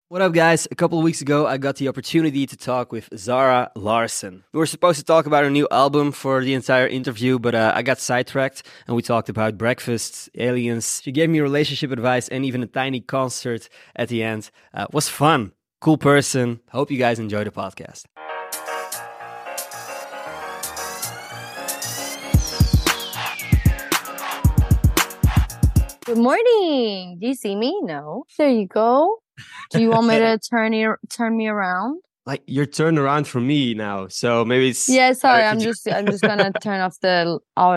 What up, guys? A couple of weeks ago, I got the opportunity to talk with Zara Larsson. We were supposed to talk about her new album for the entire interview, but I got sidetracked and we talked about breakfast, aliens. She gave me relationship advice and even a tiny concert at the end. It was fun. Cool person. Hope you guys enjoy the podcast. Good morning. Do you see me? No. There you go. Do you want me to turn me around? Like, you're turned around for me now, so maybe it's... Yeah, sorry. I'm just gonna turn off the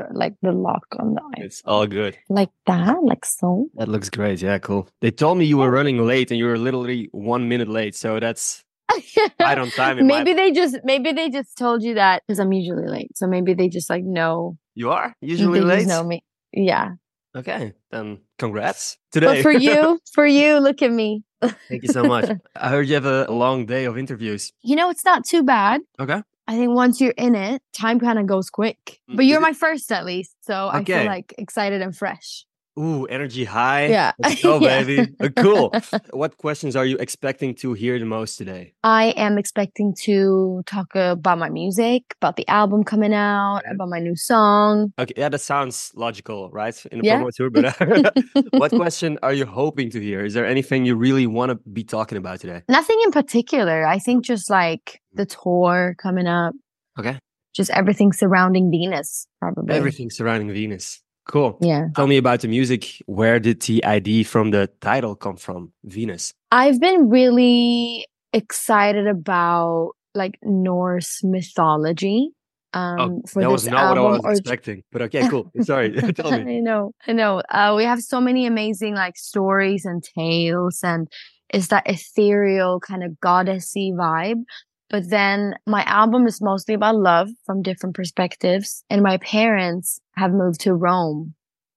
lock on the iPhone. It's all good. Like that, like so. That looks great. Yeah, cool. They told me you were running late and you were literally 1 minute late, so that's right on time. Maybe they just told you that because I'm usually late. So maybe they just know. You are usually late? Just know me. Yeah. Okay, then congrats today. But for you, look at me. Thank you so much. I heard you have a long day of interviews. It's not too bad. Okay. I think once you're in it, time kind of goes quick. But you're my first at least. So I feel like excited and fresh. Ooh, energy high. Yeah. Let's go, baby. Cool. What questions are you expecting to hear the most today? I am expecting to talk about my music, about the album coming out, about my new song. Okay, yeah, that sounds logical, right? In the promo tour. But what question are you hoping to hear? Is there anything you really want to be talking about today? Nothing in particular. I think just like the tour coming up. Okay. Just everything surrounding Venus, probably. Everything surrounding Venus. Cool. Yeah. Tell me about the music. Where did the idea from the title come from, Venus? I've been really excited about like Norse mythology. For that this was not album, what I was expecting. But okay, cool. Sorry. Tell me. I know. We have so many amazing like stories and tales, and it's that ethereal kind of goddessy vibe. But then my album is mostly about love from different perspectives. And my parents have moved to Rome.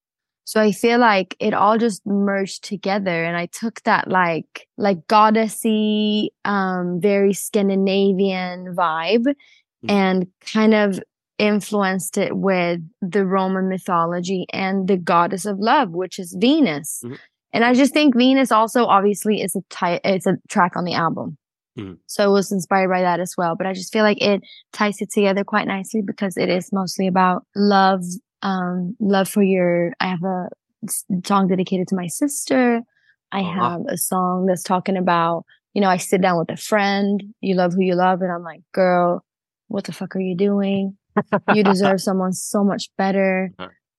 So I feel like it all just merged together. And I took that like goddessy, very Scandinavian vibe and kind of influenced it with the Roman mythology and the goddess of love, which is Venus. Mm-hmm. And I just think Venus also obviously is it's a track on the album. So it was inspired by that as well. But I just feel like it ties it together quite nicely because it is mostly about love, love for I have a song dedicated to my sister. I have a song that's talking about, I sit down with a friend, you love who you love. And I'm like, girl, what the fuck are you doing? You deserve someone so much better.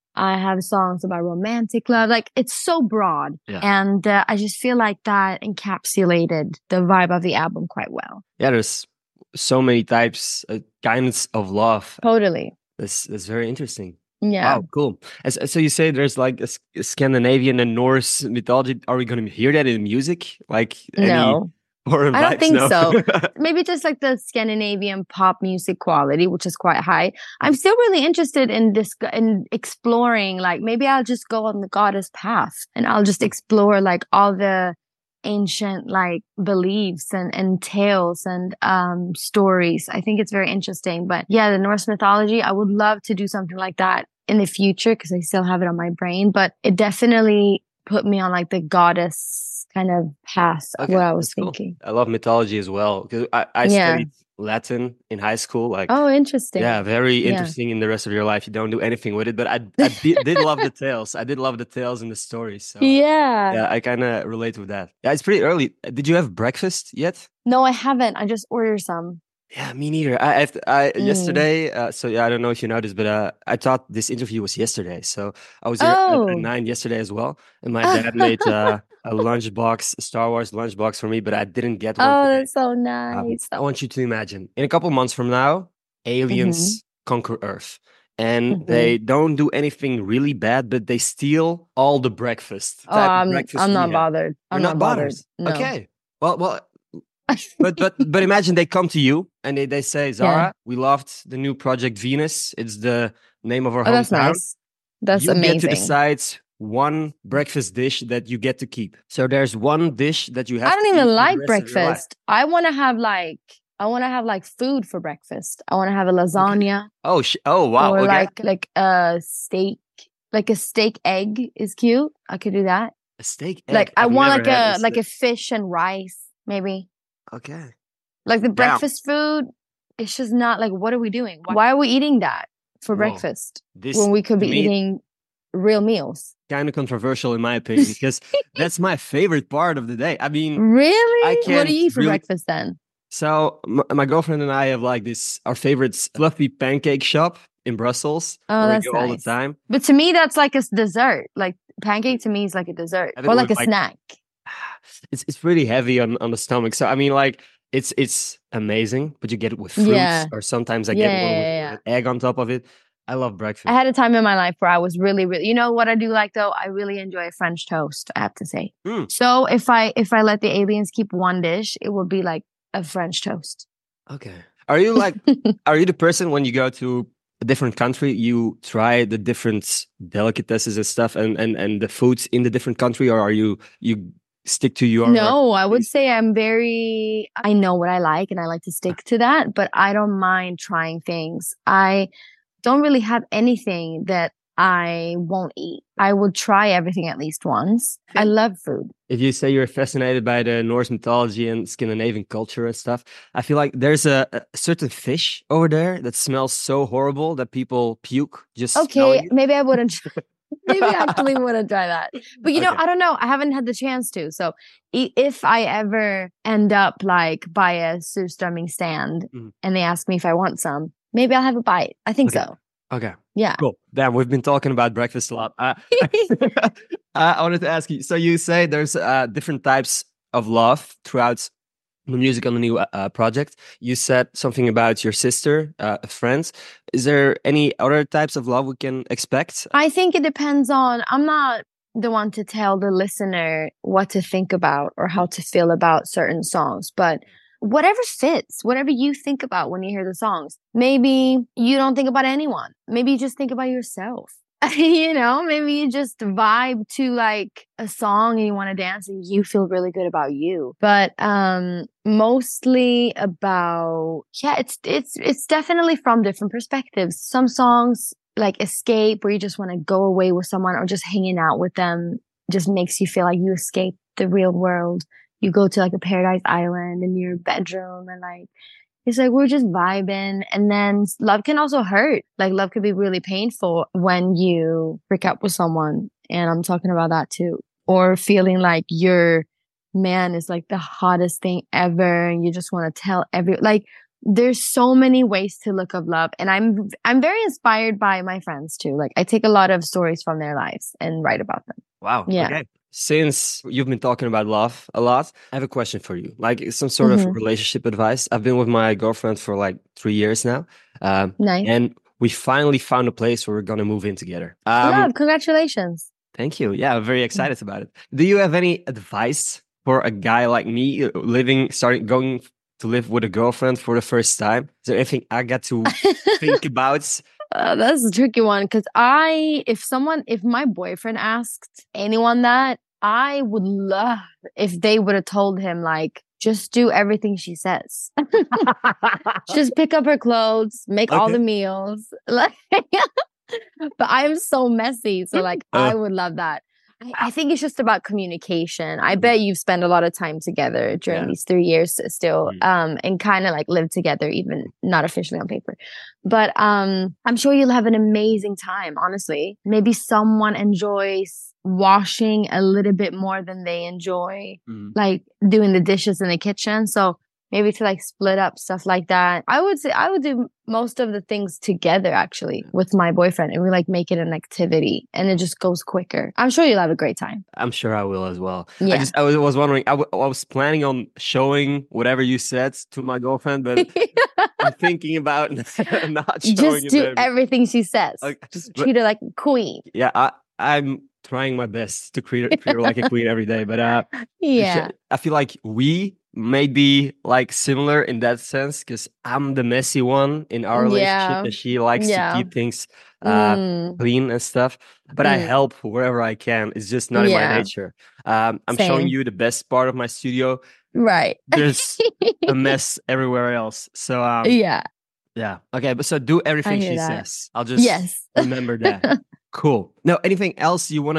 I have songs about romantic love. Like, it's so broad. Yeah. And I just feel like that encapsulated the vibe of the album quite well. Yeah, there's so many types, kinds of love. Totally. That's very interesting. Yeah. Wow, cool. So you say there's like a Scandinavian and Norse mythology. Are we going to hear that in music? Like no. I don't think so. Maybe just like the Scandinavian pop music quality, which is quite high. I'm still really interested in exploring, like maybe I'll just go on the goddess path and I'll just explore like all the ancient like beliefs and tales and stories. I think it's very interesting. But yeah, the Norse mythology, I would love to do something like that in the future because I still have it on my brain. But it definitely put me on like the goddess kind of path where I was thinking. Cool. I love mythology as well because I studied Latin in high school. Like, oh, interesting. Yeah, very interesting in the rest of your life. You don't do anything with it, but I did love the tales. I did love the tales and the stories. So yeah, I kind of relate with that. Yeah, it's pretty early. Did you have breakfast yet? No, I haven't. I just ordered some. Yeah, me neither. I yesterday. So yeah, I don't know if you noticed, but I thought this interview was yesterday. So I was here at 9 yesterday as well, and my dad made a lunchbox, a Star Wars lunchbox for me, but I didn't get one. Oh, that's so nice. I want you to imagine in a couple months from now, aliens conquer Earth. And they don't do anything really bad, but they steal all the breakfast. I'm not bothered. I'm not bothered. No. Okay. Well. but imagine they come to you and they say, Zara, we loved the new project Venus. It's the name of our hometown. That's nice. That's amazing. You get to decide one breakfast dish that you get to keep. So there's one dish that you have. I don't even like breakfast. I want to have like food for breakfast. I want to have a lasagna. Okay. Oh wow. Or like a steak, like a steak egg is cute. I could do that. A steak egg. Like I want like a fish and rice maybe. Okay. Like the Damn. breakfast food, it's just not like, what are we doing? Why are we eating that for Whoa. breakfast This, when we could to be me, eating real meals? kind of controversial in my opinion, because that's my favorite part of the day. I mean, I Really? What do can't you eat for really. breakfast then? So my girlfriend and I have like this, our favorite fluffy pancake shop in Brussels, Oh, where we that's go all the nice. time. But to me, that's like a dessert. Like pancake to me is like a dessert Have it or like with a like, snack. it's really heavy on the stomach. So I mean, like it's amazing, but you get it with fruits, Yeah. or sometimes I Yeah, get one with yeah. an egg on top of it. I love I breakfast. had a time in my life where I was really, really, you know what I do like though? I really enjoy French toast, I have to say. Mm, So if I let the aliens keep one dish, it would be like a French toast. okay. Are you like, are you the person when you go to a different country, you try the different delicatessen and stuff and the foods in the different country, or are you stick to your No, I would say I know what I like and I like to stick to that, but I don't mind trying things. I don't really have anything that I won't eat. I would try everything at least once. I love food. if you say you're fascinated by the Norse mythology and Scandinavian culture and stuff, I feel like there's a certain fish over there that smells so horrible that people puke just smelling Okay, it. maybe I wouldn't. Maybe I actually wouldn't try that. But you know, Okay. I don't know. I haven't had the chance to. So if I ever end up like by a surströmming stand Mhm. and they ask me if I want some, maybe I'll have a bite. I think Okay. so. Okay. Yeah. Cool. Damn, we've been talking about breakfast a lot. I wanted to ask you. So you say there's different types of love throughout the music on the new project. You said something about your sister, friends. Is there any other types of love we can expect? I think it depends on, I'm not the one to tell the listener what to think about or how to feel about certain songs, but whatever fits, whatever you think about when you hear the songs. Maybe you don't think about anyone. Maybe you just think about yourself. You know, maybe you just vibe to like a song and you want to dance and you feel really good about you. But mostly about, yeah, it's definitely from different perspectives. Some songs like escape where you just want to go away with someone or just hanging out with them just makes you feel like you escape the real world. You go to like a paradise island in your bedroom and like it's like we're just vibing. And then love can also hurt. Like love could be really painful when you break up with someone. And I'm talking about that too. Or feeling like your man is like the hottest thing ever and you just want to tell like there's so many ways to look of love. And I'm very inspired by my friends too. Like I take a lot of stories from their lives and write about them. Wow. Yeah. Okay. Since you've been talking about love a lot, I have a question for you. Like some sort of Mm-hmm. relationship advice. I've been with my girlfriend for like 3 years now. Nice. And we finally found a place where we're going to move in together. Love, congratulations. Thank you. Yeah, I'm very excited about it. Do you have any advice for a guy like me going to live with a girlfriend for the first time? Is there anything I got to think about? That's a tricky one because if my boyfriend asked anyone that, I would love if they would have told him, like, just do everything she says. Just pick up her clothes, make all the meals. Like, but I'm so messy. So, like, I would love that. I think it's just about communication. I bet you've spent a lot of time together during these 3 years still, and kind of like live together, even not officially on paper. But I'm sure you'll have an amazing time, honestly. Maybe someone enjoys washing a little bit more than they enjoy like doing the dishes in the kitchen. So maybe to like split up stuff like that. I would say I would do most of the things together actually with my boyfriend and we like make it an activity and it just goes quicker. I'm sure you'll have a great time. I'm sure I will as well. Yeah. I was wondering, I was planning on showing whatever you said to my girlfriend, but I'm thinking about not showing just it. do everything she says. Okay. Just treat her like a queen. Yeah, I'm trying my best to treat her like a queen every day, but yeah, I feel like we may be like similar in that sense because I'm the messy one in our relationship and she likes to keep things clean and stuff. But I help wherever I can. It's just not in my nature. I'm showing you the best part of my studio. Right. There's a mess everywhere else. So yeah. Okay, but so do everything she says. I'll just remember that. Cool. Now, anything else you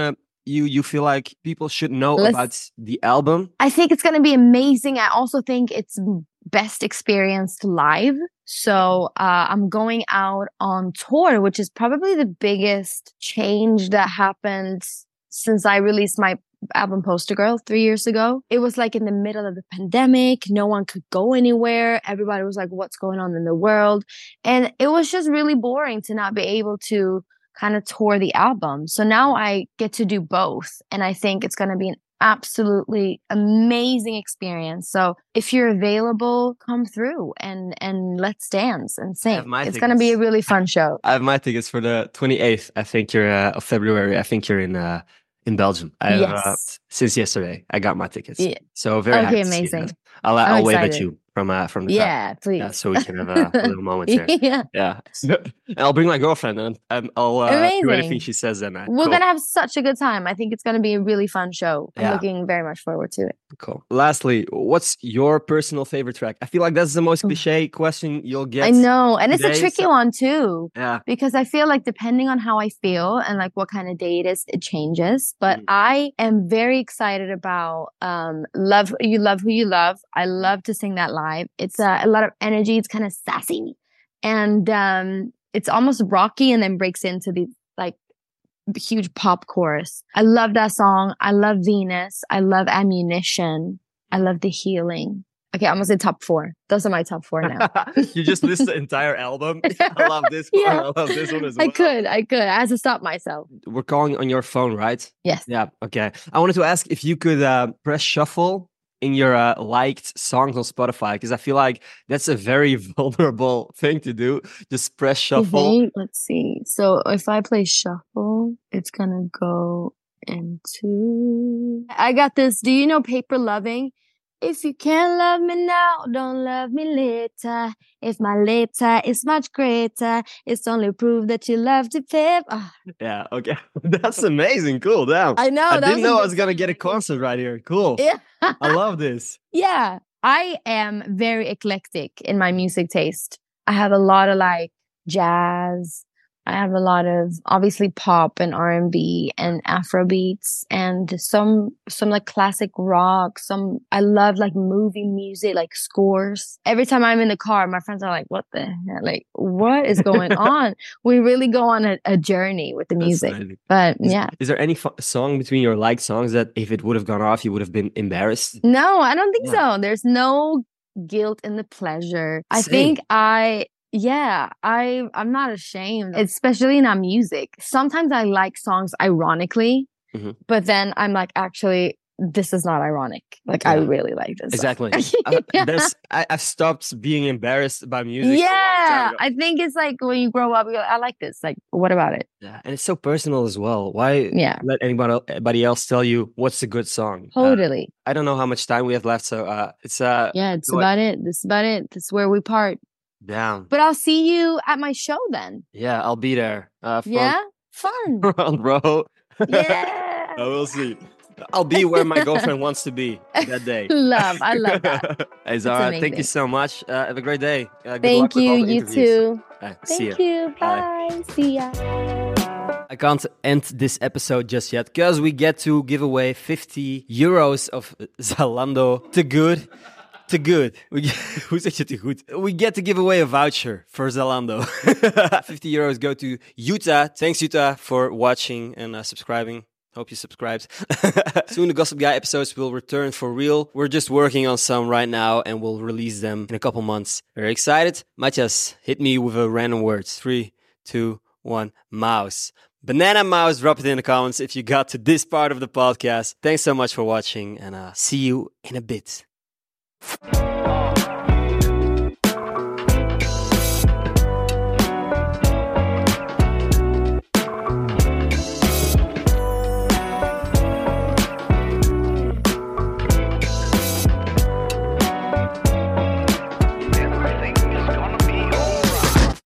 you feel like people should know Let's- about the album? I think it's going to be amazing. I also think it's best experienced live. So I'm going out on tour, which is probably the biggest change that happened since I released my album Poster Girl 3 years ago. It was like in the middle of the pandemic. No one could go anywhere. Everybody was like, what's going on in the world? And it was just really boring to not be able to kind of tour the album. So now I get to do both. And I think it's going to be an absolutely amazing experience. So if you're available, come through and let's dance and sing. It's going to be a really fun show. I have my tickets for the 28th. I think you're of February. I think you're in Belgium. Yes. Since yesterday, I got my tickets. Yeah. So very happy to see amazing. that. I'll wave at you from the yeah, crowd. please. Yeah, so we can have a little moment there. Yeah. And I'll bring my girlfriend and I'll do anything she says. Then we're gonna have such a good time. I think it's gonna be a really fun show. I'm looking very much forward to it. Cool. Lastly, what's your personal favorite track? I feel like that's the most cliche question you'll get. I know, and today, it's a tricky one too. Yeah. Because I feel like depending on how I feel and like what kind of day it is, it changes. But I am very excited about Love You Love Who You Love. I love to sing that live. It's a lot of energy. It's kind of sassy, and it's almost rocky, and then breaks into the like huge pop chorus. I love that song. I love Venus. I love Ammunition. I love The Healing. Okay, I'm gonna say top 4. Those are my top 4 now. You just list the entire album. I love this one. Yeah. I love this one as well. I could. I had to stop myself. We're calling on your phone, right? Yes. Yeah. Okay. I wanted to ask if you could press shuffle in your liked songs on Spotify, because I feel like that's a very vulnerable thing to do. Just press shuffle. Let's see. So if I play shuffle, it's gonna go into. I got this. Do you know Paper Loving? If you can't love me now, don't love me later. If my later is much greater, it's only proof that you love to pip. Oh. Yeah, okay. That's amazing. Cool. Damn. I know. I didn't know I was going to get a concert right here. Cool. Yeah. I love this. Yeah. I am very eclectic in my music taste. I have a lot of like jazz. I have a lot of obviously pop and R&B and Afro beats and some like classic rock. I love like movie music, like scores. Every time I'm in the car, my friends are like, what the hell? Like, what is going on? We really go on a journey with the music. But yeah. Is there any song between your liked songs that if it would have gone off, you would have been embarrassed? No, I don't think so. There's no guilt in the pleasure. I think I'm not ashamed, especially in our music. Sometimes I like songs ironically, but then I'm like, actually, this is not ironic. Like, I really like this. Exactly. I've stopped being embarrassed by music. Yeah. I think it's like when you grow up, you go, I like this. Like, what about it? Yeah. And it's so personal as well. Why let anybody else tell you what's a good song? Totally. I don't know how much time we have left. So it's it's about it. This is about it. This is where we part. Down. But I'll see you at my show then. Yeah, I'll be there. Fun. Front row. Yeah. We'll see. I'll be where my girlfriend wants to be that day. I love that. Hey Zara, thank you so much. Have a great day. Thank you. You too. Thank you. Bye. See ya. I can't end this episode just yet because we get to give away 50 euros of Zalando to good. Te good. Hoe zeg je te goed? We get to give away a voucher for Zalando. 50 euros go to Utah. Thanks, Utah, for watching and subscribing. Hope you subscribed. Soon the Gossip Guy episodes will return for real. We're just working on some right now and we'll release them in a couple months. Very excited? Matthias, hit me with a random word. 3, 2, 1. Mouse. Banana mouse. Drop it in the comments if you got to this part of the podcast. Thanks so much for watching and see you in a bit.